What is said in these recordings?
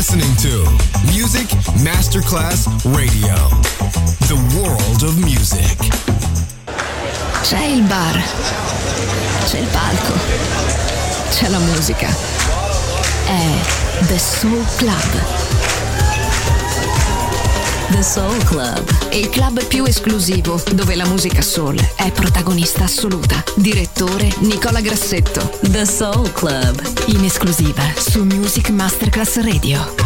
listening to Music Masterclass Radio, the world of music. C'è il bar, c'è il palco, c'è la musica. È The Soul Club. The Soul Club, il club più esclusivo dove la musica soul è protagonista assoluta. Direttore Nicola Grassetto. The Soul Club, in esclusiva su Music Masterclass Radio.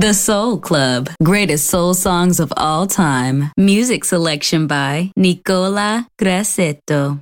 The Soul Club. Greatest soul songs of all time. Music selection by Nicola Grassetto.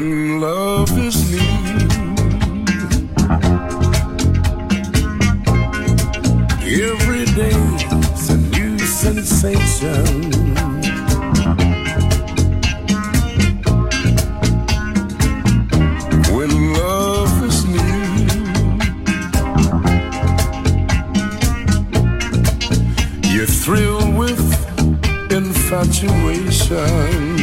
when love is new. Every day's a new sensation. When love is new, you're thrilled with infatuation.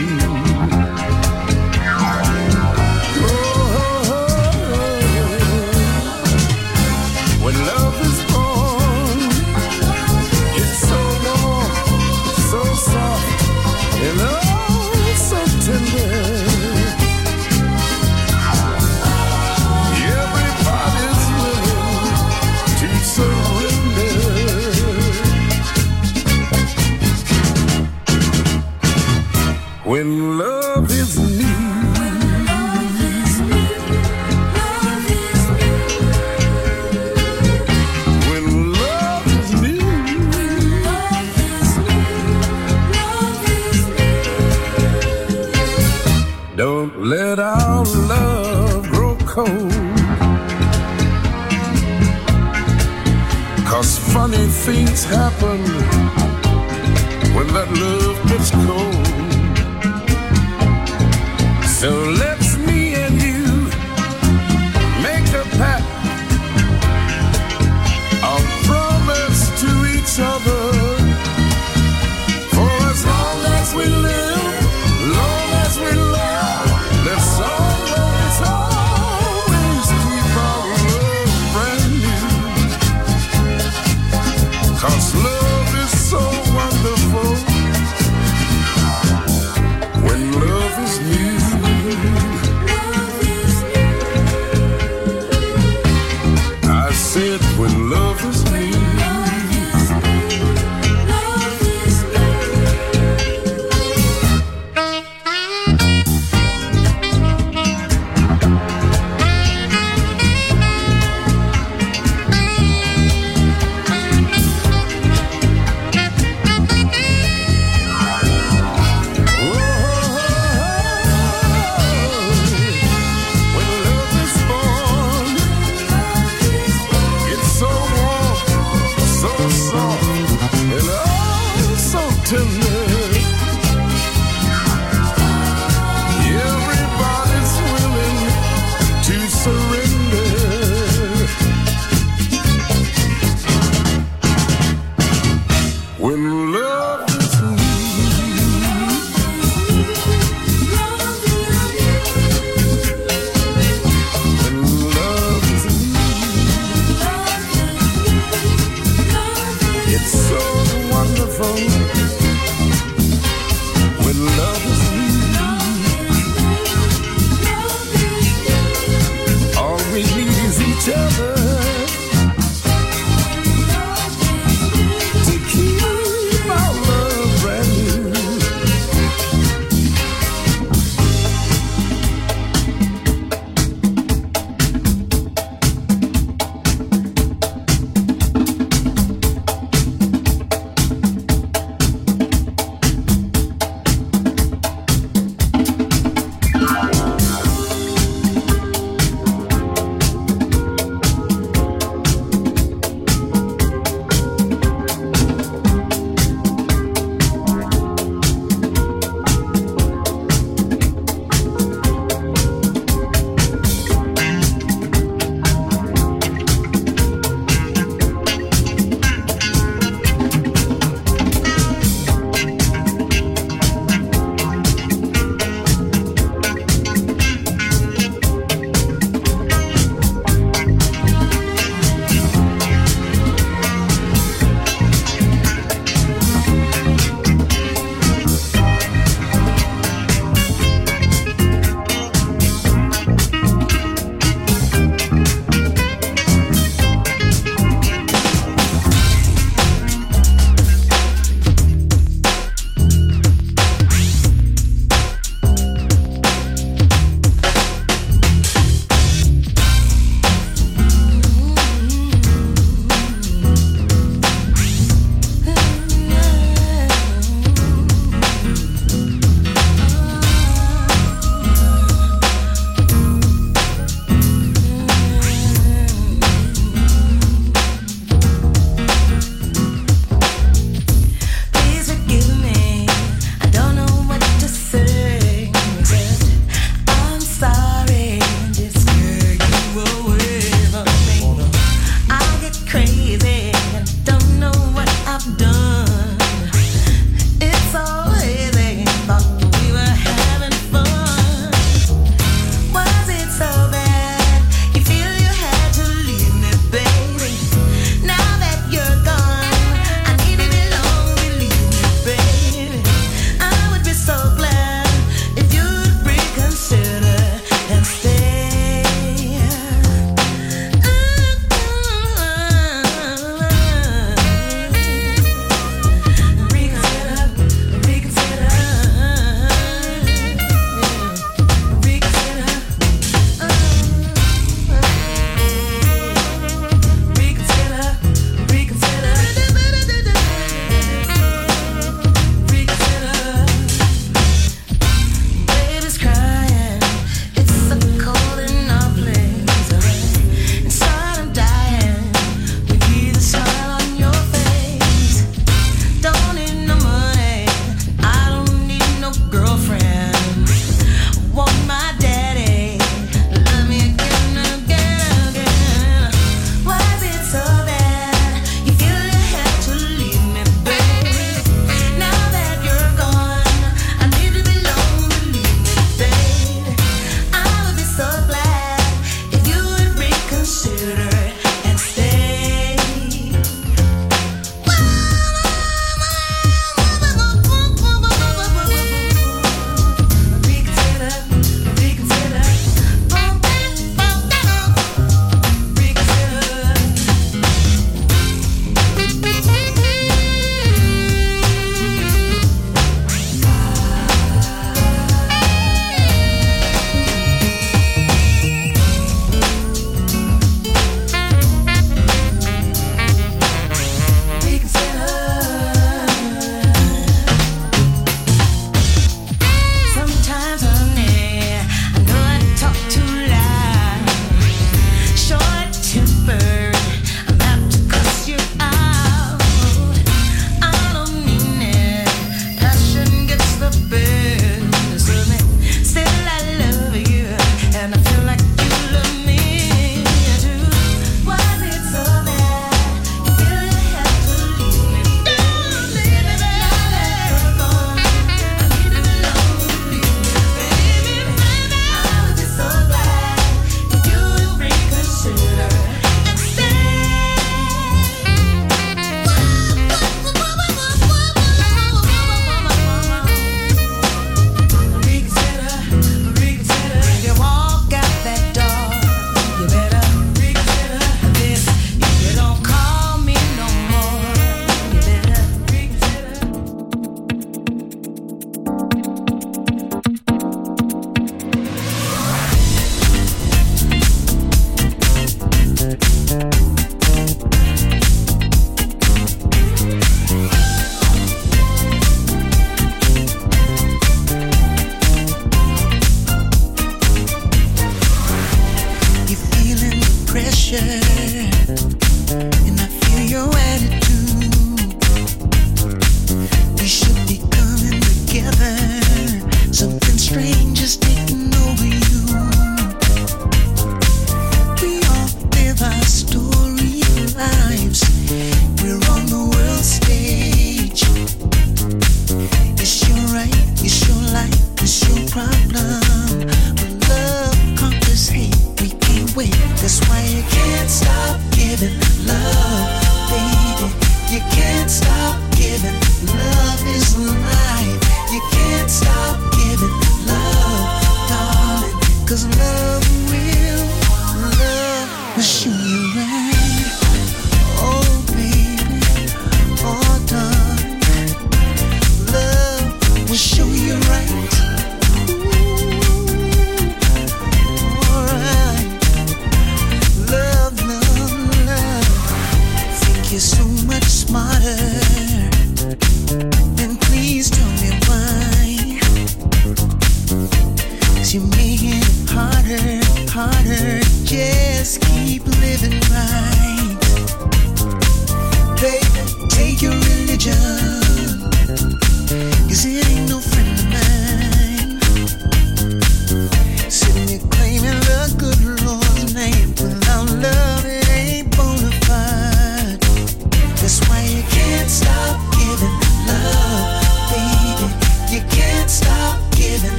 When love is new, when love is new, don't let our love grow cold, 'cause funny things happen when that love gets cold. So let's me and you make a pact, a promise to each other, for as long as we live, long as we love, let's always, always keep our love brand new, 'cause love is so wonderful when love is new. I said when love is new.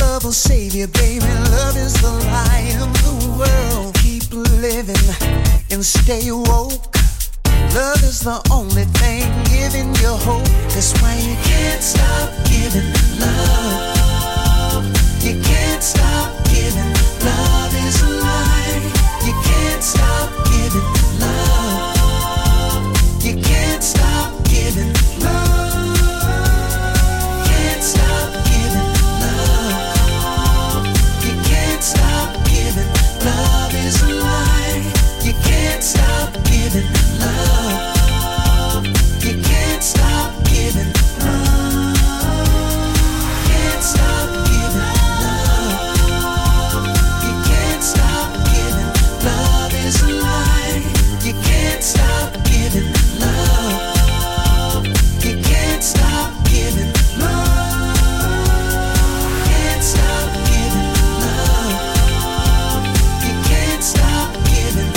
love will save you, baby. Love is the light of the world. Keep living and stay woke. Love is the only thing giving you hope. That's why you can't stop giving love. You can't stop giving. Love is alive. You can't stop giving love. You can't stop giving love. Can't stop giving love. You can't stop giving. Love is alive. You can't stop giving love. You can't stop giving love. Can't stop giving love. You can't stop giving. Love is alive. You can't stop giving love. You can't stop giving love. Can't stop giving love. You can't stop giving.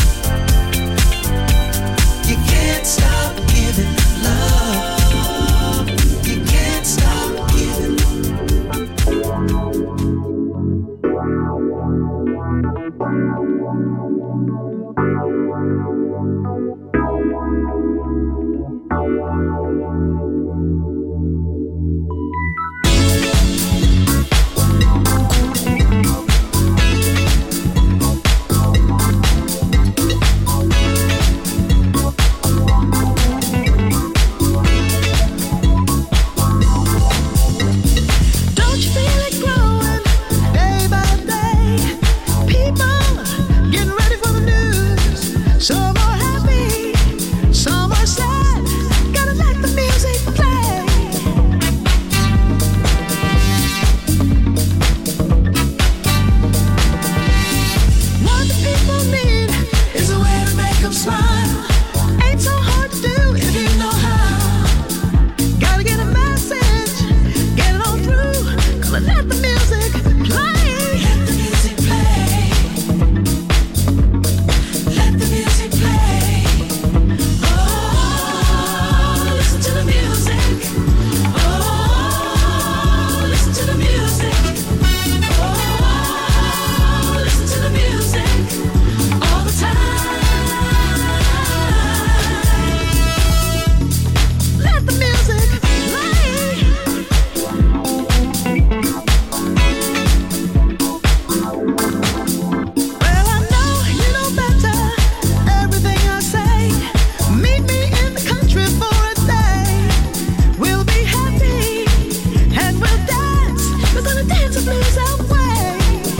You can't stop giving love. You can't stop giving. Don't you feel it growing day by day? People getting ready for the news. Some are happy, some are sad. Gotta let the music play. What the people need is a way to make them smile. Ain't so hard to do if you know how. Gotta get a message, get it on through. Gonna let the music play. Let the music play. Let the music play. Oh, listen to the music. Oh, listen to the music. Oh, listen to the music all the time. Let the music play. Well, I know you know better. Everything I say. Meet me in the country for a day. We'll be happy and we'll dance. We're gonna dance the blues away.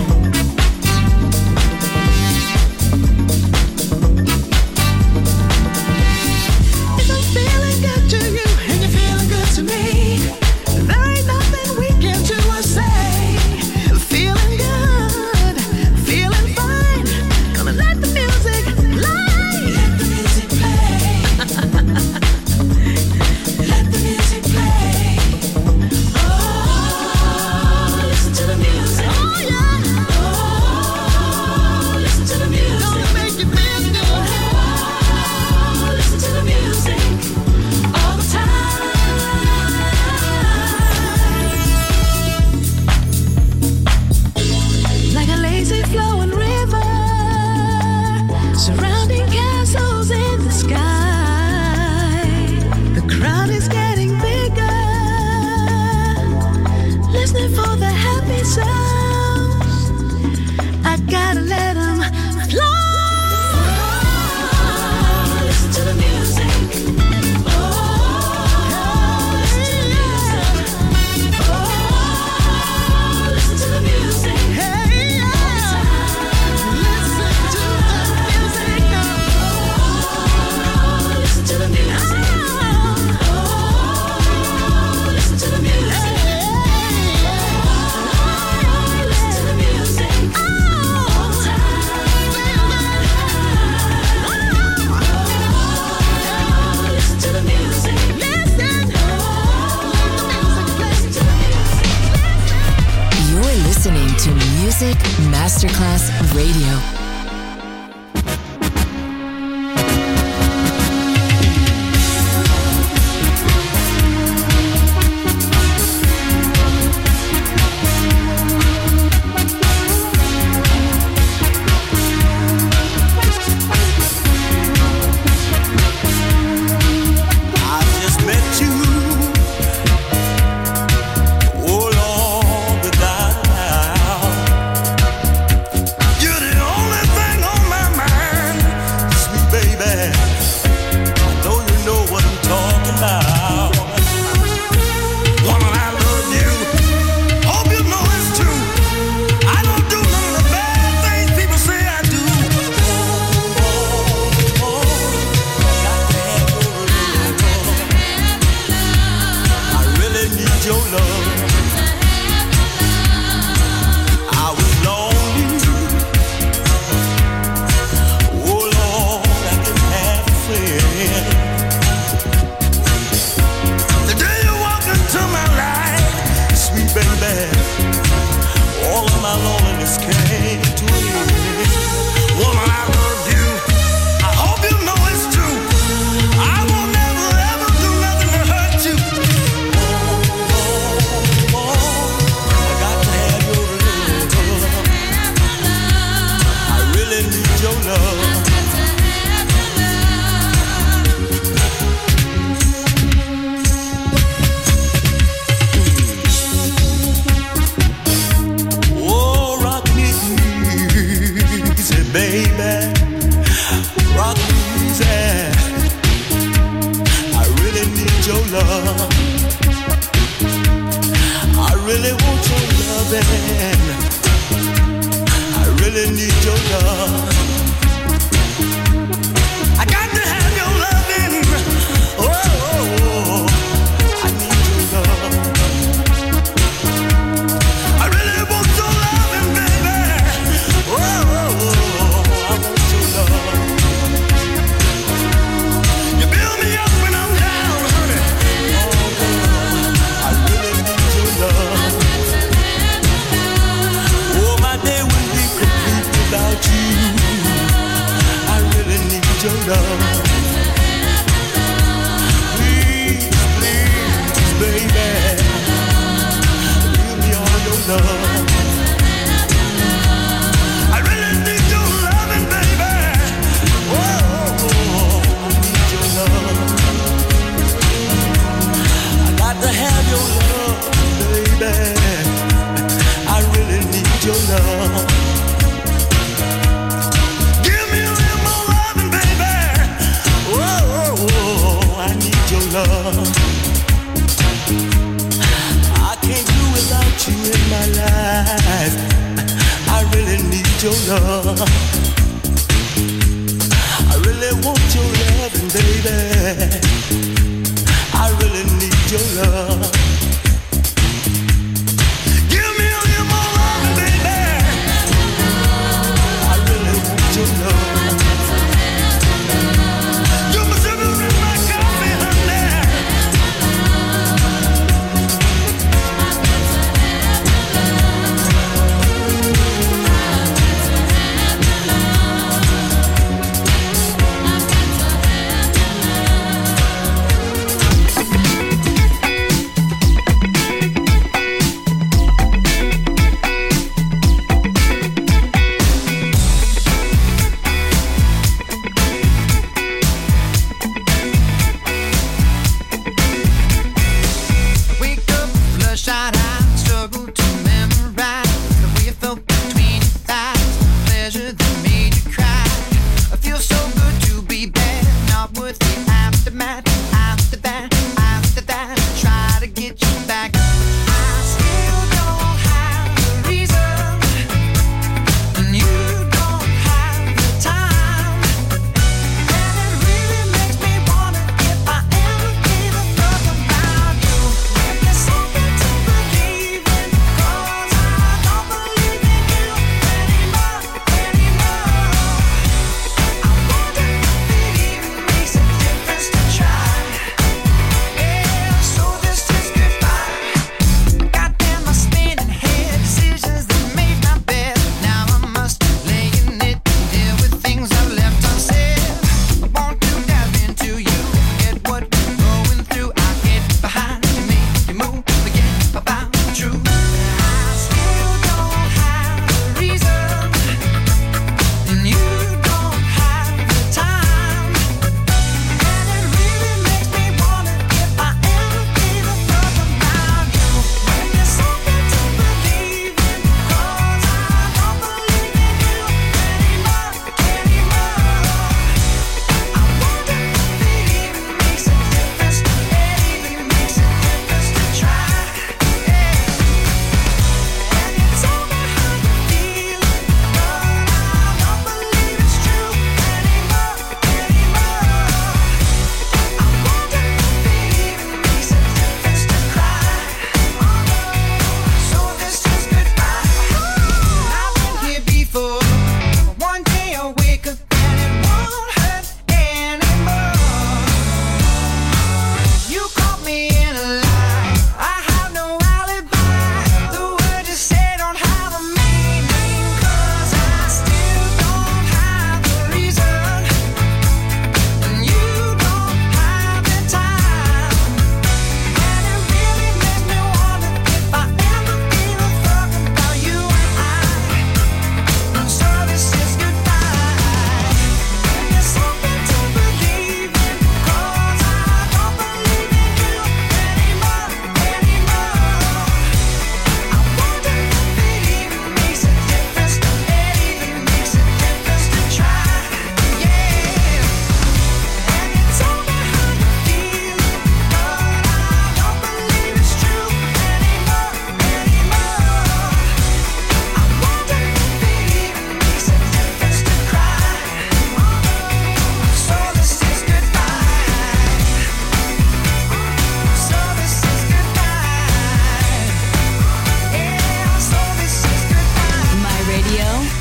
If I'm feeling good to you and you're feeling good to me, there ain't nothing we can do or say. Feeling good, feeling fine. Gonna let the music play. Let the music play. Let the music play. Oh, listen to the music. Oh yeah. Oh, listen to the music. Gonna make you feel good. Oh, listen to the music all the time. Like a lazy flowing river, surrounding castles in the sky. The crowd is getting bigger, listening for the happy sounds. I gotta let them flow. Listen to the music. Oh, listen to the music. Oh, listen to the music. Hey, yeah. Listen to the music. Oh, listen to the music. Oh, listen to the music. Listen to the music. All the time. Listen to the music. Listen. Listen to the music. You're listening to Music Masterclass Radio. your love. I was lonely. Oh Lord, I didn't have a friend. The day you walked into my life, sweet baby, all of my loneliness came to an end. Woman, I love you. I hope you know it's true. I won't never ever do nothing to hurt you. I got to have your love. I really need your love. Oh, rock me easy, baby. Rock me easy. I really need your love. I really want your loving. I really need your love. I got to have your loving. Oh, I need your love. I really want your loving, baby. Oh, I want your love. You build me up when I'm down, honey. I really need your love. Oh, my day will be complete without you. I really need your love. Please, please, baby, give me all your love. I really need your loving, baby. Oh, I need your love. I got to have your love, baby. I really need your love. Give me a little more loving, baby. Oh, I need your love. I can't do without you in my life. I really need your love. I really want your loving, baby. I really need your love. Give me a little more loving, baby. I really want your love. You're my sugar and my coffee, honey.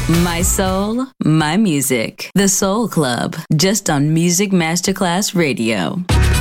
My soul, my music. The Soul Club, just on Music Masterclass Radio.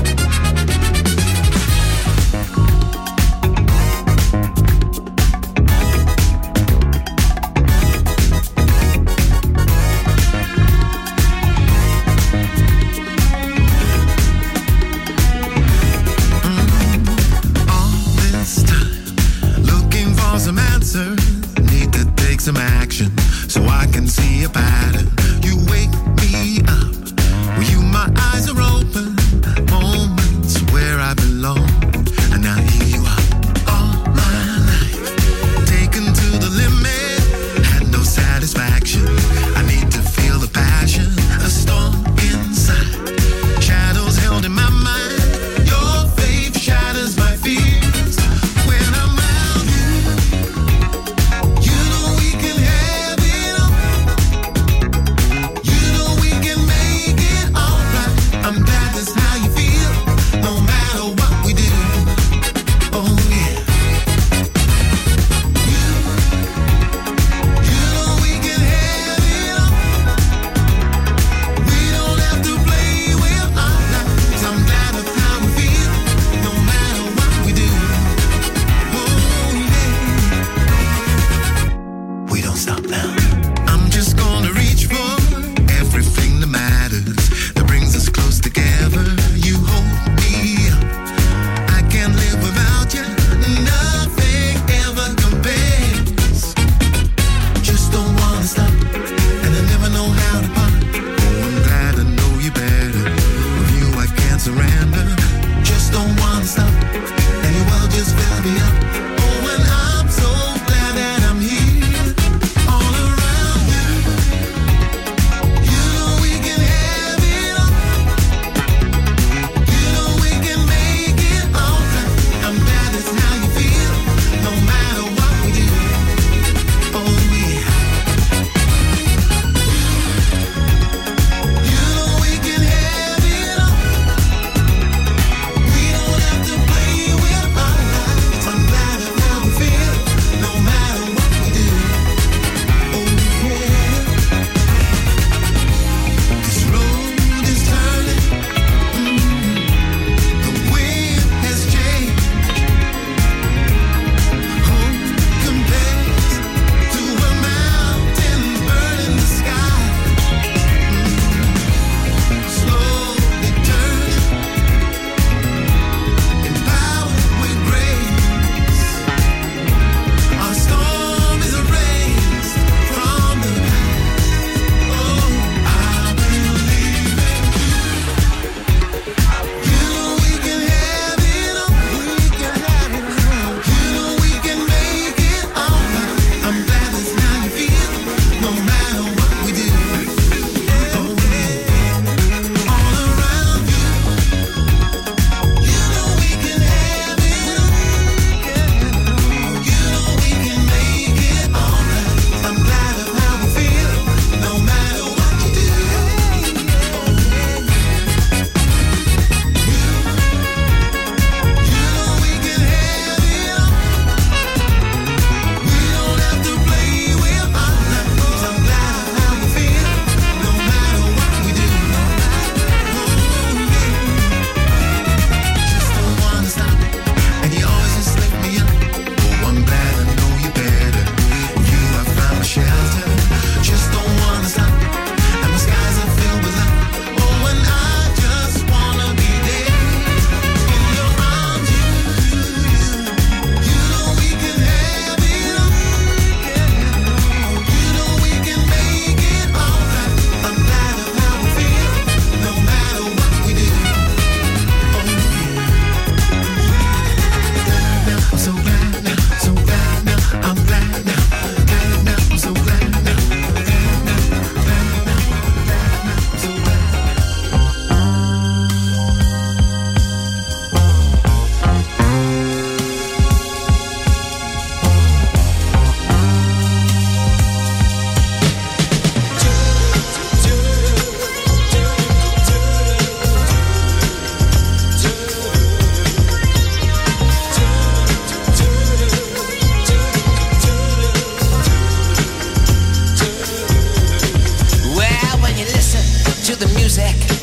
Some action so I can see a pattern. You wake me up when my eyes are open. Moments where I belong, and now here you are. All my life taken to the limit, had no satisfaction. I need to feel the passion, a storm inside, shadows held in my mind. Your faith shatters my fears when I'm around you. You know we can have it all.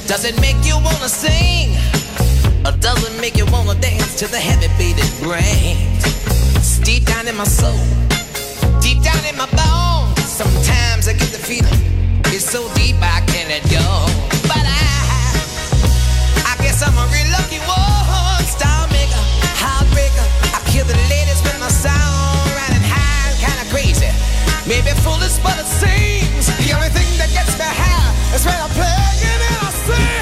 Does it make you wanna sing? Or does it make you wanna dance to the heavy beating brains? It's deep down in my soul, deep down in my bones. Sometimes I get the feeling, it's so deep I can't let go. But I guess I'm a real lucky one. Star maker, heartbreaker. I kill the ladies with my sound, riding high, kinda crazy. Maybe foolish, but it seems the only thing that gets me high is when I'm playing and I sing.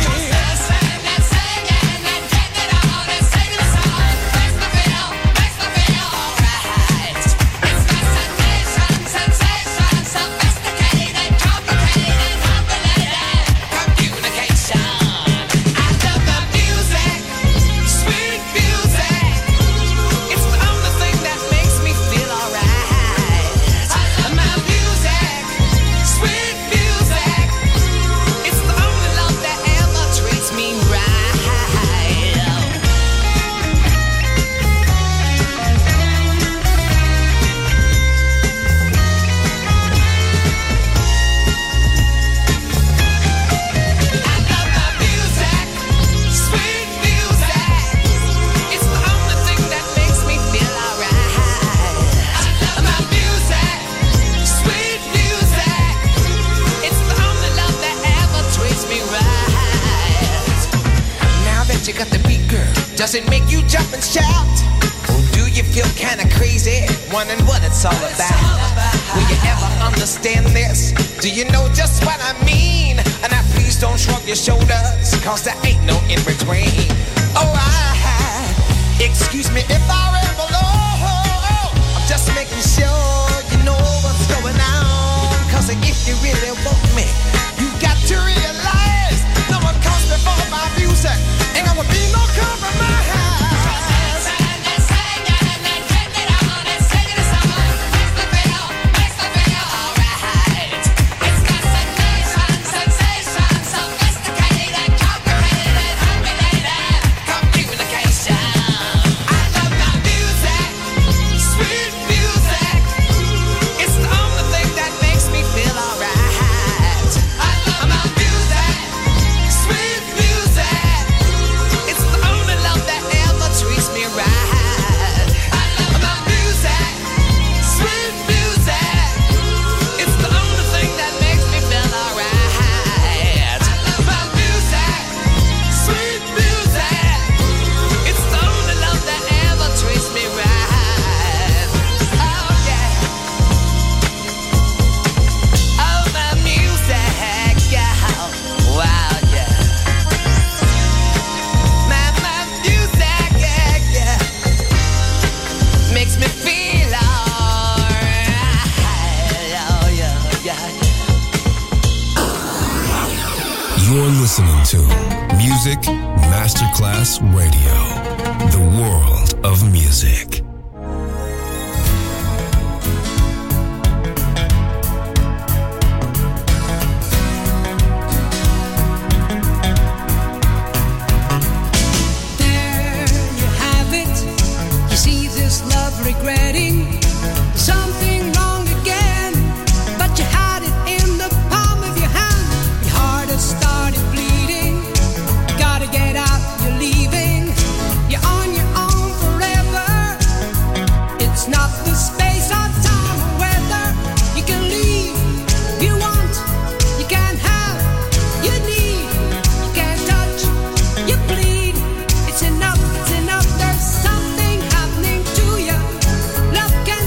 Does it make you jump and shout? Or do you feel kinda crazy, wondering what it's all about? Will you ever understand this? Do you know just what I mean? And now please don't shrug your shoulders, cause there ain't no in between. Alright, excuse me if I ramble on. I'm just making sure you know what's going on. Cause if you really want me, you got to realize no one comes before my music. Ain't gonna be no compromise. Listening to Music Masterclass Radio, the world of music. There you have it. You see this love regretting something wrong again, but you had it in the palm of your hand. Your heart has started bleeding. You gotta get out, you're leaving. You're on your own forever. It's not the space or time or weather. You can leave if you want. You can have, you need. You can touch, you bleed. It's enough, it's enough. There's something happening to you. Love can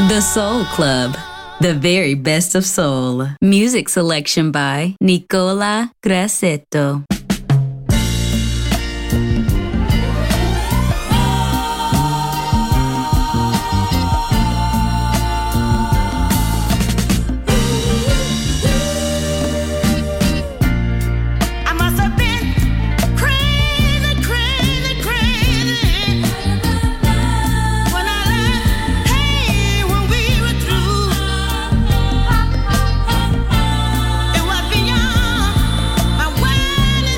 The Soul Club, the very best of soul. Music selection by Nicola Grassetto. It was beyond my wildest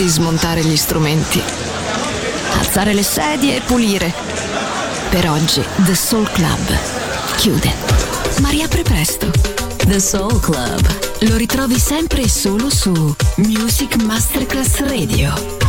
di smontare gli strumenti, alzare le sedie e pulire. Per oggi The Soul Club chiude, ma riapre presto. The Soul Club lo ritrovi sempre e solo su Music Masterclass Radio.